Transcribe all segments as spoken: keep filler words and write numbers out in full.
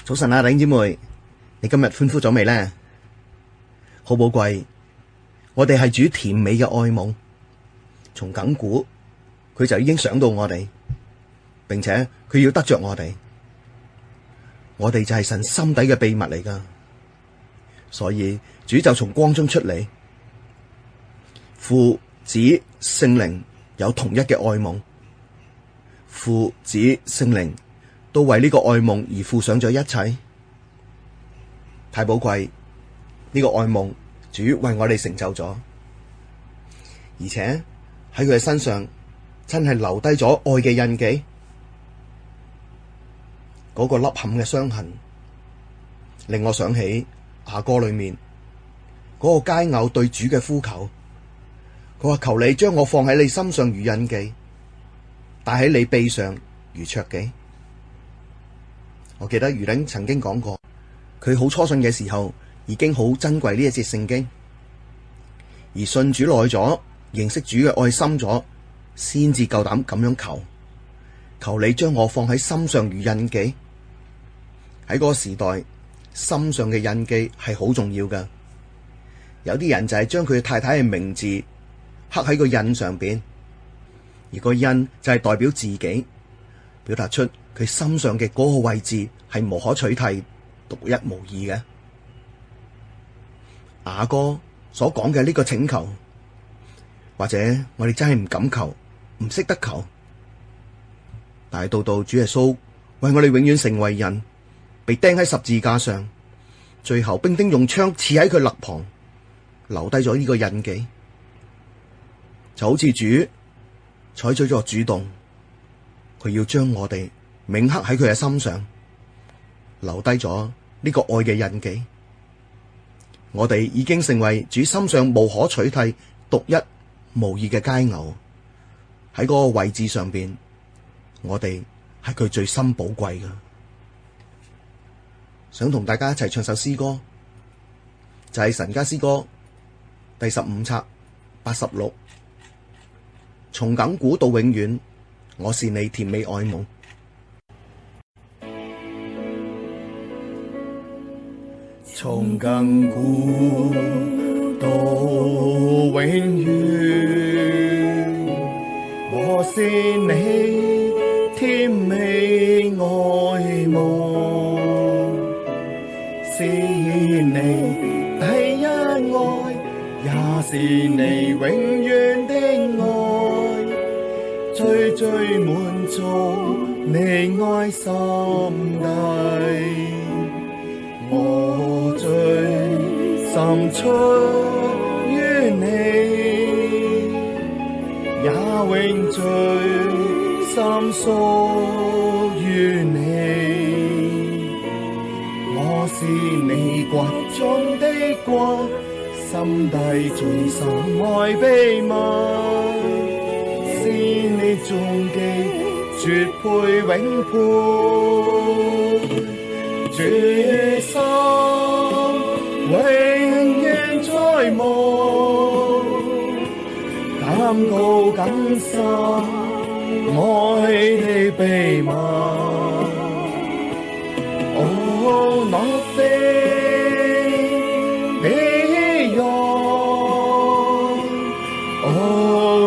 早晨啊，弟兄姊妹，你今日歡呼咗未呢？好寶貴，我哋係主甜美嘅愛夢，從亙古佢就已經想到我哋，並且佢要得着我哋，我哋就係神心底嘅秘密嚟噶。所以主就從光中出嚟，父子聖靈有同一嘅愛夢，父子聖靈都為呢個愛夢而付上咗一切，太寶貴。呢個愛夢主為我哋成就咗，而且喺佢嘅身上真係留低咗愛嘅印記。嗰個凹陷嘅傷痕令我想起雅歌裏面嗰個佳偶對主嘅呼求，佢話，求你將我放喺你心上如印記，帶喺你臂上如戳記。我記得余玲曾經講過，佢好初信嘅時候已經好珍貴呢一節聖經，而信主耐咗，認識主嘅愛深咗，先至夠膽咁樣求，求你將我放喺心上如印記。喺嗰個時代，心上嘅印記係好重要噶。有啲人就係將佢太太嘅名字刻喺個印上邊，而個印就係代表自己，表達出佢心上嘅嗰個位置係無可取替、獨一無二嘅。雅歌所講嘅呢個請求，或者我哋真係唔敢求，唔識得求，但係到到主耶穌為我哋永遠成為人，被釘喺十字架上，最後兵丁用槍刺喺佢肋旁，留低咗呢個印記，就好似主採取咗主動，佢要將我哋銘刻喺佢嘅心上，留低咗呢個愛嘅印記。我哋已經成為主心上無可取替、獨一無二嘅佳偶，喺嗰個位置上邊，我哋係佢最深寶貴嘅。想同大家一齊唱首詩歌，就係神家詩歌第十五冊八十六，從亙古到永遠，我是你甜美愛夢。從亙古到永遠，我是你甜美愛夢，是你第一愛，也是你永遠的愛，最最滿足你愛心底。我最深出於你，也永最深屬於你。我是你骨中的骨，心底最深愛秘密，是你終極絕配永配。主心永遠在望，感告更深愛的秘密。Oh, nothing beyond. Oh,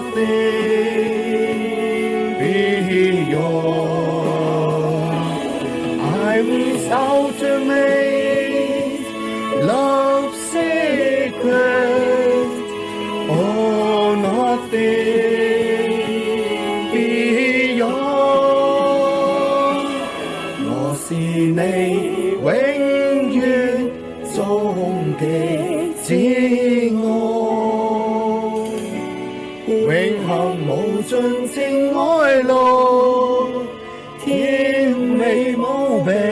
nothing beyond. Ultimate love secret, oh nothing beyond. 我是你永遠終極至愛，永恆無盡情愛路，甜美無比。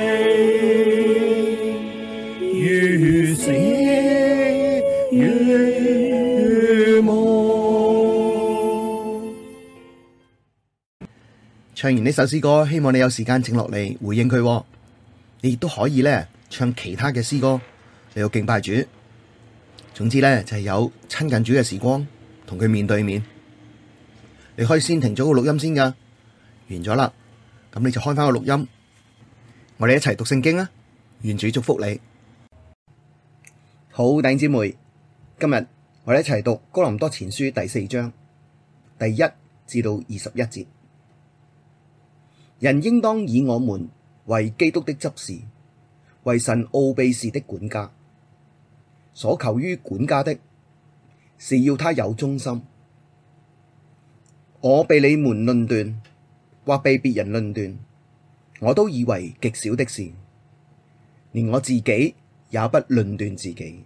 唱完呢首詩歌，希望你有時間靜落嚟回應佢。你亦都可以咧唱其他嘅詩歌嚟到敬拜主。總之咧就係有親近主嘅時光，同佢面對面。你可以先停咗個錄音先噶，完咗啦，咁你就開翻個錄音。 我哋一齊讀聖經啊！願主祝福你。好，弟兄姊妹，今日我哋一齊讀哥林多前書第四章第一至到二十一節。人應當以我們為基督的執事，為神奧秘事的管家。所求於管家的，是要他有忠心。我被你們論斷，或被別人論斷，我都以為極小的事，連我自己也不論斷自己。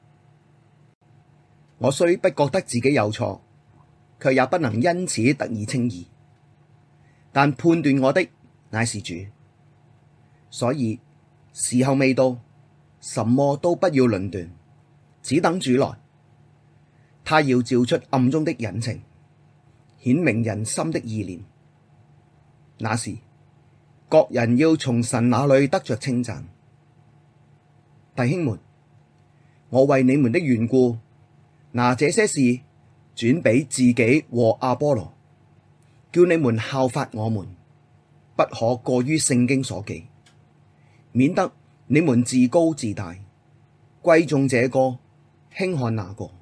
我雖不覺得自己有錯，卻也不能因此得以稱義。但判斷我的乃是主，所以時候未到，什麼都不要論斷，只等主來。他要照出暗中的隱情，顯明人心的意念。那時，各人要從神那裡得着稱讚。弟兄們，我為你們的緣故，拿這些事轉俾自己和阿波羅，叫你們效法我們，不可過於聖經所記，免得你們自高自大，貴重這個，輕看那個。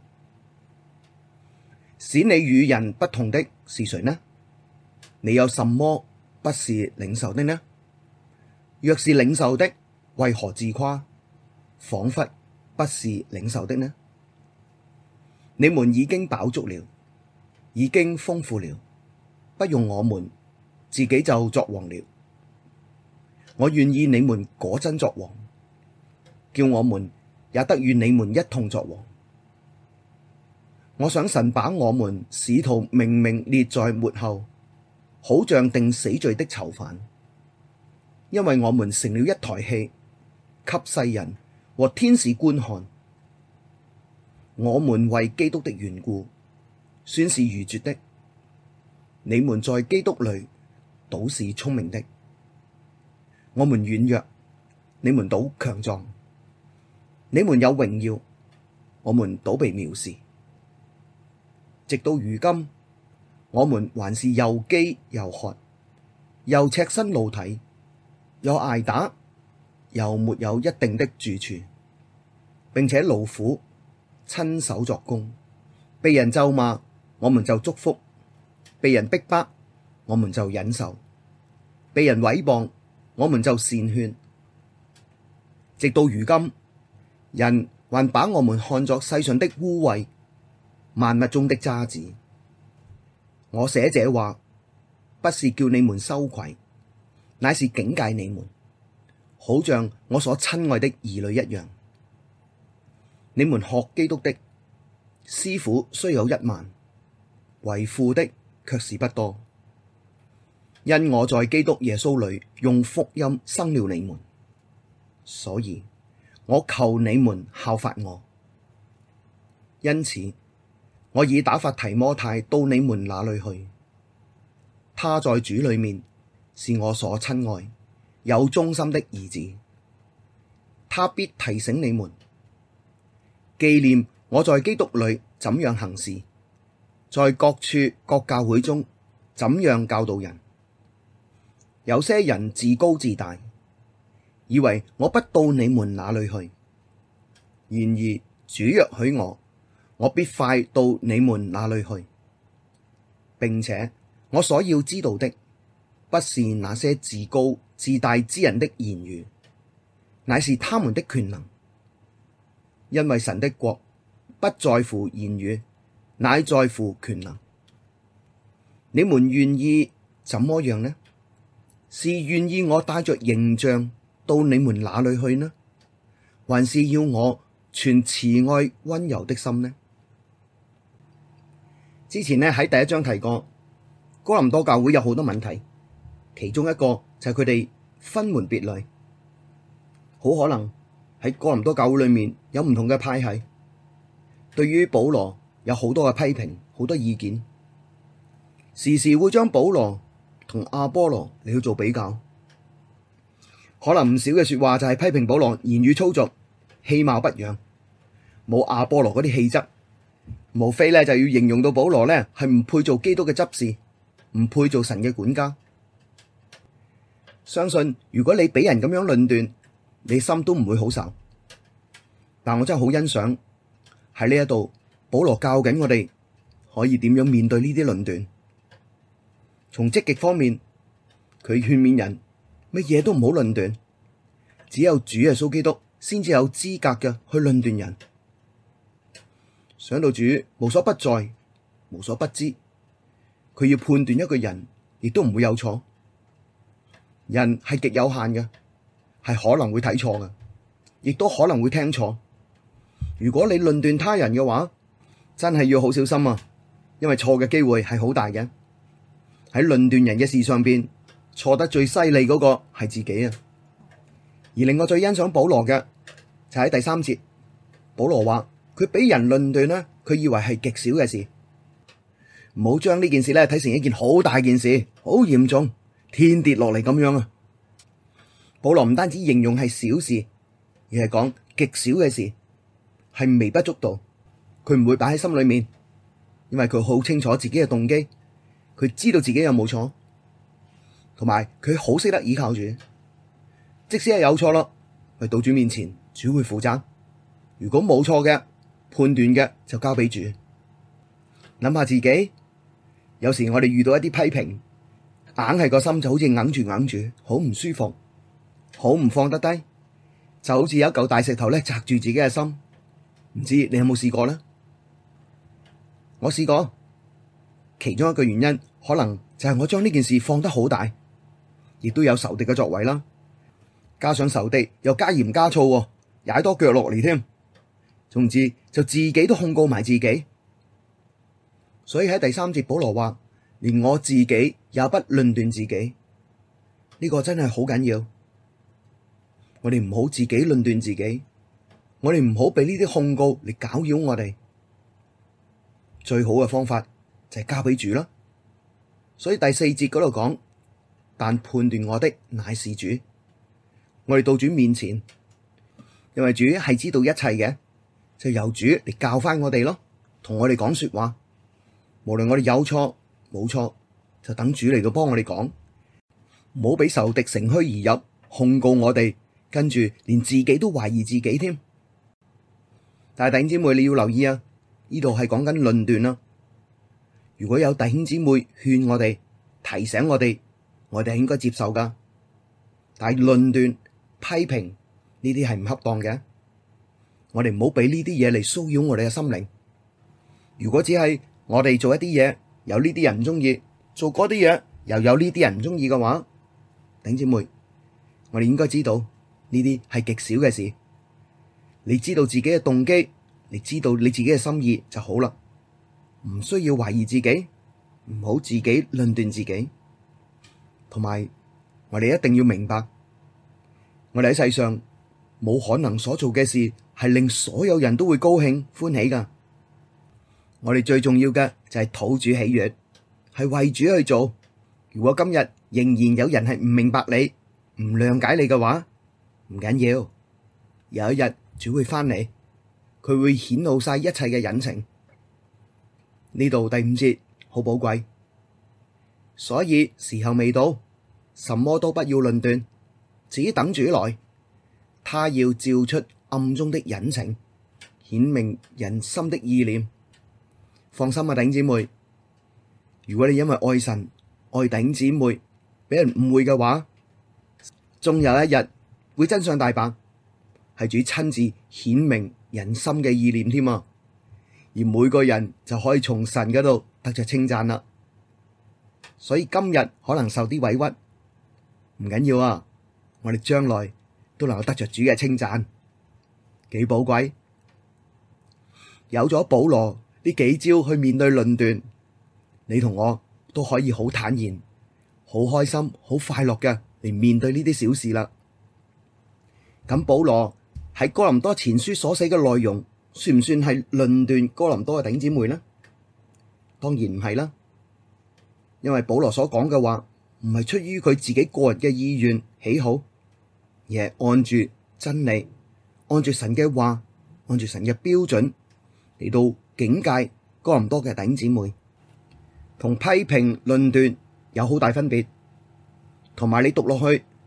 使你與人不同的是誰呢？你有什麼不是領受的呢？若是領受的，為何自誇，仿佛不是領受的呢？你們已經飽足了，已經豐富了，不用我們，自己就作王了。我願意你們果真作王，叫我們也得與你們一同作王。我想神把我們使徒明明列在末後，好像定死罪的囚犯，因為我們成了一台戲，給世人和天使觀看。我們為基督的緣故，算是愚拙的；你們在基督裡倒是聰明的。我們軟弱，你們倒強壯；你們有榮耀，我們倒被藐視。直到如今，我們還是又飢又渴，又赤身露體，又挨打，又沒有一定的住處，並且勞苦，親手作工，被人咒罵，我們就祝福；被人逼迫，我們就忍受；被人毀謗，我們就善勸。直到如今，人還把我們看作世上的污穢，萬物中的渣滓。我寫這話，不是叫你們羞愧，乃是警戒你們，好像我所親愛的兒女一樣。你們學基督的，師傅雖有一萬，為父的卻是不多。因我在基督耶穌裡用福音生了你們，所以我求你們效法我。因此，我已打發提摩太到你們那裡去，他在主裡面是我所親愛、有忠心的兒子，他必提醒你們，紀念我在基督裡怎樣行事，在各處各教會中怎樣教導人。有些人自高自大，以為我不到你們那裡去。然而主若許我，我必快到你們那裡去。並且我所要知道的，不是那些自高自大之人的言語，乃是他們的權能。因為神的國不在乎言語，乃在乎權能。你們願意怎麼樣呢？是願意我帶着形象到你們那裡去呢，還是要我存慈愛溫柔的心呢？之前呢喺第一章提過，哥林多教會有好多問題，其中一個就係佢哋分門別類，好可能喺哥林多教會裏面有唔同嘅派系，對於保羅有好多嘅批評，好多意見，時時會將保羅同阿波羅嚟去做比較，可能唔少嘅說話就係批評保羅言語粗俗、氣貌不揚，冇阿波羅嗰啲氣質，無非咧就要形容到保羅咧係唔配做基督嘅執事，唔配做神嘅管家。 相信如果你俾人咁樣論斷，你心都唔會好受。但我真係好欣賞喺呢一度，保羅教緊我哋可以點樣面對呢啲論斷。從積極方面，佢勸勉人乜嘢都唔好論斷，只有主耶穌基督先至有資格嘅去論斷人。想到主無所不在、無所不知，佢要判斷一個人，亦都唔會有錯。人係極有限嘅，係可能會睇錯嘅，亦都可能會聽錯。如果你論斷他人嘅話，真係要好小心啊！因為錯嘅機會係好大嘅。喺論斷人嘅事上邊，錯得最犀利嗰個係自己啊！而令我最欣賞保羅嘅就喺第三節，保羅話佢俾人論斷呢，佢以為係極小嘅事，唔好將呢件事咧睇成一件好大件事，好嚴重。天跌落嚟咁樣啊！保羅唔單止形容係小事，而係講極小嘅事，係微不足道，佢唔會擺喺心裏面，因為佢好清楚自己嘅動機，佢知道自己有冇錯，同埋佢好識得倚靠主，即使係有錯咯，去到主面前，主會負責。如果冇錯嘅判斷嘅，就交俾主。諗下自己，有時我哋遇到一啲批評，硬係個心就好似硬住硬住，好唔舒服，好唔放得低，就好似有一嚿大石頭咧，砸住自己嘅心。唔知你有冇試過呢？我試過，其中一個原因可能就係我將呢件事放得好大，亦都有仇敵嘅作為啦。加上仇敵又加鹽加醋，踩多腳落嚟添，總之就自己都控告埋自己。所以喺第三節保羅話，連我自己也不論斷自己，呢個真係好緊要。我哋唔好自己論斷自己，我哋唔好俾呢啲控告嚟攪擾我哋。最好嘅方法就係交俾主啦。所以第四節嗰度講，但判斷我的乃是主。我哋到主面前，因為主係知道一切嘅，就由主嚟教翻我哋咯，同我哋講說話。無論我哋有錯冇錯，就等主嚟到幫我哋講，唔好俾仇敵乘虛而入控告我哋，跟住連自己都懷疑自己添。但係弟兄姊妹你要留意啊，呢度係講緊論斷啦。如果有弟兄姊妹勸我哋、提醒我哋，我哋係應該接受噶。但係論斷、批評呢啲係唔恰當嘅，我哋唔好俾呢啲嘢嚟騷擾我哋嘅心靈。如果只係我哋做一啲嘢，有呢啲人唔中意，做嗰啲嘢又有呢啲人唔中意嘅話，弟兄姊妹，我哋應該知道呢啲係極小嘅事。你知道自己嘅動機，你知道你自己嘅心意就好啦，唔需要懷疑自己，唔好自己論斷自己。同埋，我哋一定要明白，我哋喺世上冇可能所做嘅事係令所有人都會高興歡喜噶。我哋最重要嘅就係討主喜悅，係為主去做。如果今日仍然有人係唔明白你、唔諒解你嘅話，唔緊要，有一日主會翻嚟，佢會顯露晒一切嘅隱情。呢度第五節好寶貴，所以時候未到，什麼都不要論斷，只等主來，他要照出暗中的隱情，顯明人心的意念。放心啊，弟兄姊妹，如果你因為愛神、愛弟兄姊妹，俾人誤會嘅話，終有一日會真相大白，係主親自顯明人心嘅意念添啊！而每個人就可以從神嗰度得着稱讚啦。所以今日可能受啲委屈，唔緊要啊！我哋將來都能夠得着主嘅稱讚，幾寶貴。有咗保羅呢幾招去面對論斷，你同我都可以好坦然、好開心、好快樂嘅嚟面對呢啲小事啦。咁保羅喺哥林多前書所寫嘅內容，算唔算係論斷哥林多嘅弟兄姊妹呢？當然唔係啦，因為保羅所講嘅話唔係出於佢自己個人嘅意願喜好，而係按住真理、按住神嘅話、按住神嘅標準嚟到警戒哥林多嘅弟兄姊妹，同批評論斷有好大分別。同埋你讀落去，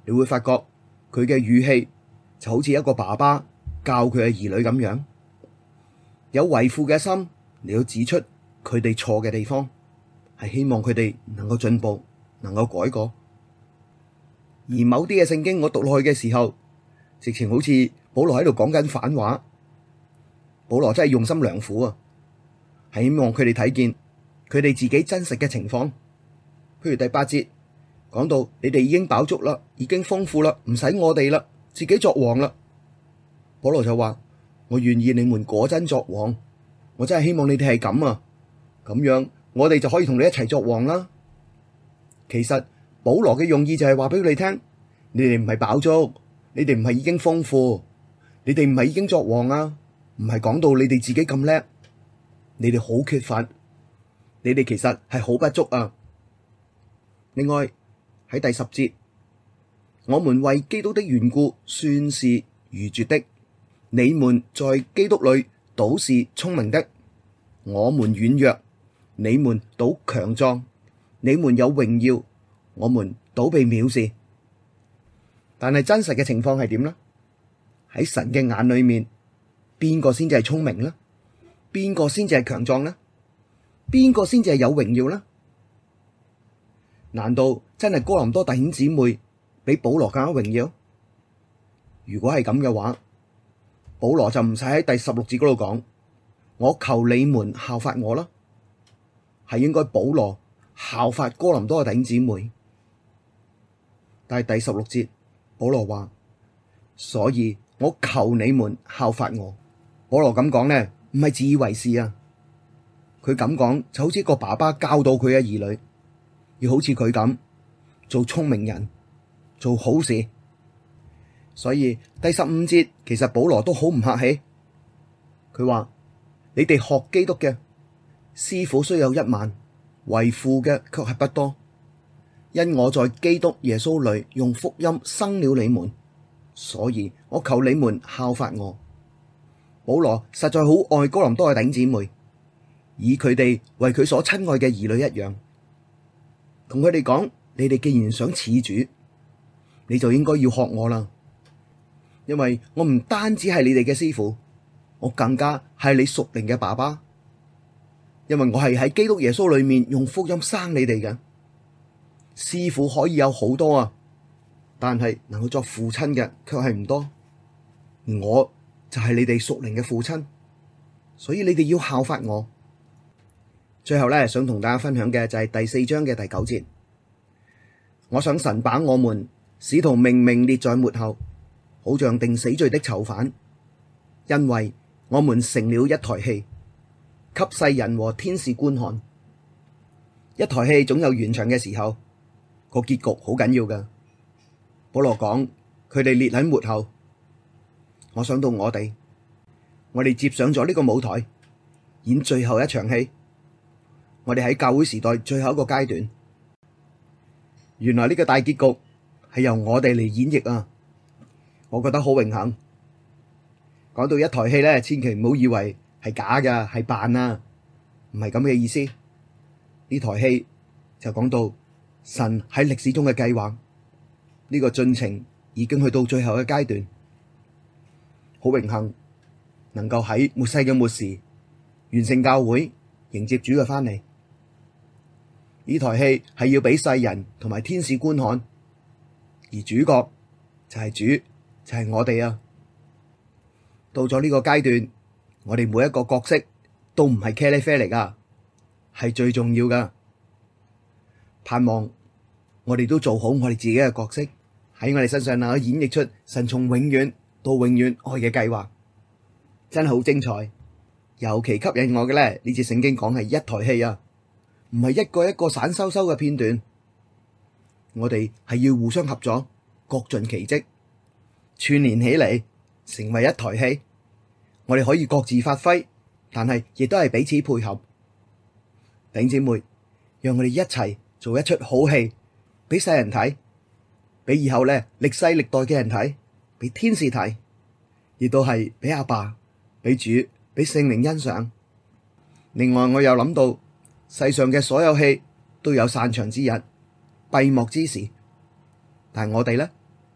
你會發覺佢嘅語氣就好似一個爸爸教佢嘅兒女咁樣，有為父嘅心，你要指出佢哋錯嘅地方，係希望佢哋能夠進步，能夠改過。而某啲嘅聖經我讀落去嘅時候，直情好似保羅喺度講緊反話。保羅真係用心良苦啊，係希望佢哋睇見佢哋自己真實嘅情況。譬如第八節講到，你哋已經飽足啦，已經豐富啦，唔使我哋啦，自己作王啦。保羅就話：我願意你們果真作王，我真係希望你哋係咁啊，咁樣我哋就可以同你一齊作王啦。其實保羅嘅用意就係話俾你聽，你哋唔係飽足，你哋唔係已經豐富，你哋唔係已經作王啊，唔係講到你哋自己咁叻，你哋好缺乏，你哋其實係好不足啊。另外喺第十節，我們為基督的緣故算是愚拙的，你們在基督裡倒是聰明的。我們軟弱，你們倒強壯；你們有榮耀，我們倒被藐視。但係真實嘅情況係點呢？喺神嘅眼裏面，邊個先至係聰明呢？邊個先至係強壯呢？邊個先至係有榮耀呢？難道真係哥林多弟兄姊妹比保羅更加榮耀？如果係咁嘅話，保羅就唔使喺第十六節嗰度講，我求你們效法我啦，係應該保羅效法哥林多嘅弟兄姊妹。但係第十六節保羅話，所以我求你們效法我。保羅咁講呢，唔係自以為是啊，佢咁講就好似一個爸爸教導佢嘅兒女，要好似佢咁做聰明人，做好事。所以第十五節其實保羅都好唔客氣，佢話，你哋學基督嘅師傅雖有一萬，為父嘅卻係不多，因我在基督耶穌裡用福音生了你們，所以我求你們效法我。保羅實在好愛哥林多嘅弟兄姊妹，以佢哋為佢所親愛嘅兒女一樣，同佢哋講，你哋既然想似主，你就應該要學我啦，因為我唔單止係你哋嘅師傅，我更加係你屬靈嘅爸爸，因為我係喺基督耶穌裡面用福音生你哋嘅。師傅可以有好多啊，但係能夠作父親嘅卻係唔多，我就係你哋屬靈嘅父親，所以你哋要效法我。最後咧，想同大家分享嘅就係第四章嘅第九節。我想神把我們使徒明明列在末後，好像定死罪的囚犯，因為我們成了一台戲，給世人和天使觀看。一台戲總有完場嘅時候，個結局好緊要㗎。保羅講佢哋列喺末後。我想到我哋，我哋接上咗呢個舞台，演最後一場戲。我哋喺教會時代最後一個階段，原來呢個大結局係由我哋嚟演繹啊！我覺得好榮幸。講到一台戲咧，千祈唔好以為係假噶，係扮啊，唔係咁嘅意思。呢台戲就講到神喺歷史中嘅計劃，呢個進程已經去到最後嘅階段。好榮幸能夠喺末世嘅末時完成教會，迎接主嘅翻嚟。呢台戲係要俾世人同埋天使觀看，而主角就係主，就係我哋啊！到咗呢個階段，我哋每一個角色都唔係茄喱啡嚟噶，係最重要噶。盼望我哋都做好我哋自己嘅角色，喺我哋身上能夠演繹出神從永遠到永遠愛嘅計劃，真係好精彩。尤其吸引我嘅咧，呢節聖經講係一台戲啊，唔係一個一個散修修嘅片段。我哋係要互相合作，各盡其職，串聯起嚟成為一台戲。我哋可以各自發揮，但係亦都係彼此配合。弟兄姊妹，讓我哋一齊做一出好戲，俾世人睇，俾以後咧歷世歷代嘅人睇，俾天使睇，亦都係俾阿爸、俾主、俾聖靈欣賞。另外，我又諗到世上嘅所有戲都有散場之日、閉幕之時，但係我哋咧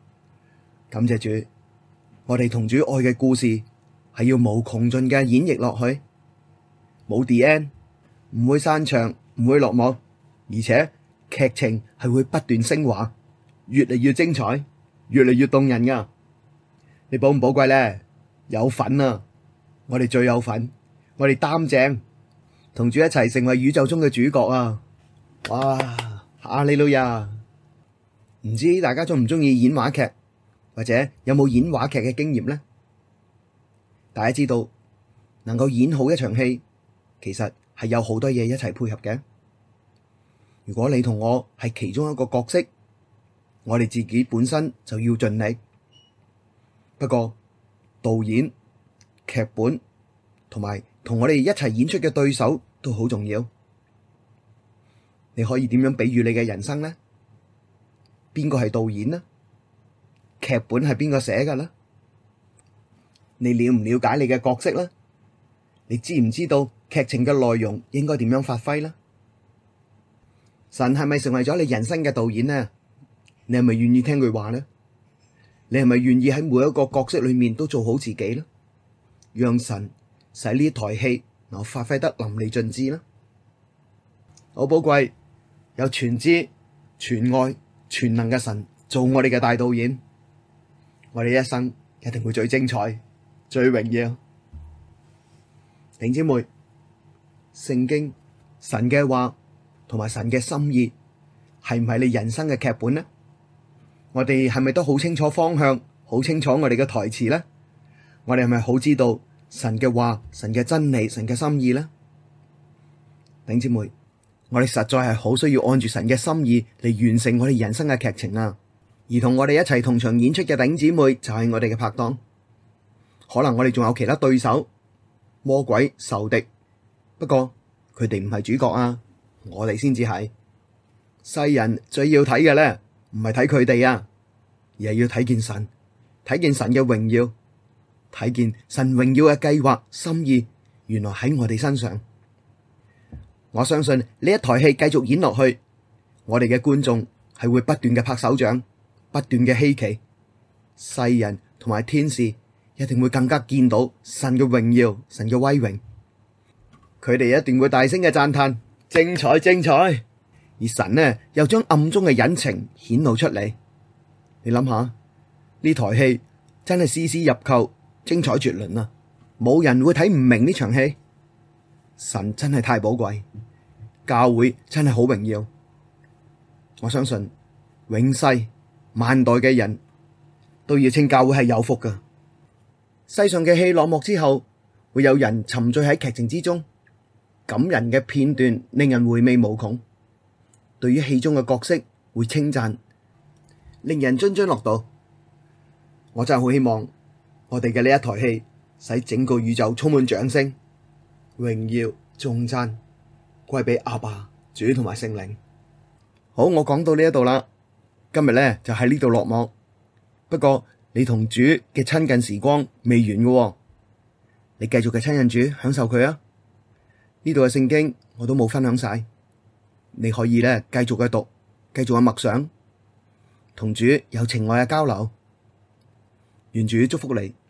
感謝主，我哋同主愛嘅故事係要無窮盡嘅演繹落去，冇 the end， 唔會散場，唔會落幕，而且劇情係會不斷升華，越嚟越精彩，越嚟越動人噶。你寶唔寶貴咧？有份啊！我哋最有份，我哋擔正，同主一齊成為宇宙中嘅主角啊！哇！哈利路亞！唔知大家中唔中意演話劇，或者有冇演話劇嘅經驗呢？大家知道能夠演好一場戲，其實係有好多嘢一齊配合嘅。如果你同我係其中一個角色，我哋自己本身就要盡力。不過導演、劇本同埋同我哋一齊演出嘅對手都好重要。你可以點樣比喻你嘅人生呢？邊個係導演呢？劇本係邊個寫㗎呢？你了唔了解你嘅角色呢？你知唔知道劇情嘅內容應該點樣發揮呢？神係咪成為咗你人生嘅導演呢？你係咪願意聽佢話呢？你係咪願意喺每一個角色裏面都做好自己呢？讓神使呢台戲能發揮得淋漓盡致呢？好寶貴，有全知、全愛、全能嘅神做我哋嘅大導演，我哋一生一定會最精彩、最榮耀。弟兄姊妹，聖經神嘅話同埋神嘅心意係唔係你人生嘅劇本呢？我哋係咪都好清楚方向，好清楚我哋嘅台詞呢？我哋係咪好知道神嘅話、神嘅真理、神嘅心意呢？弟兄姊妹，我哋實在係好需要按住神嘅心意嚟完成我哋人生嘅劇情啊！而同我哋一齊同場演出嘅弟兄姊妹就係我哋嘅拍檔。可能我哋仲有其他對手、魔鬼、仇敵，不過佢哋唔係主角啊，我哋先至係。世人最要睇嘅咧，唔係睇佢哋啊，而係要睇見神，睇見神嘅榮耀，睇見神榮耀嘅計劃心意，原來喺我哋身上。我相信呢一台戲繼續演落去，我哋嘅觀眾係會不斷嘅拍手掌，不斷嘅希奇，世人同埋天使一定會更加見到神嘅榮耀、神嘅威榮，佢哋一定會大聲嘅讚嘆：精彩精彩！而神呢又將暗中嘅隱情顯露出嚟。你諗下，呢台戲真係絲絲入扣，精彩絕倫啊！冇人會睇唔明呢場戲。神真係太寶貴，教會真係好榮耀。我相信永世萬代嘅人都要稱教會係有福噶。世上嘅戲落幕之後，會有人沉醉喺劇情之中，感人嘅片段令人回味無窮。對於戲中嘅角色會稱讚，令人津津樂道。我真係好希望我哋嘅呢一台戲使整個宇宙充滿掌聲、榮耀、頌讚歸俾阿爸、主同埋聖靈。好，我講到呢一度啦，今日咧就喺呢度落幕。不過你同主嘅親近時光未完嘅喎，你繼續嘅親近主，享受佢啊！呢度嘅聖經我都冇分享晒，你可以咧繼續嘅讀，繼續嘅默想，同主有情愛嘅交流。願主祝福你。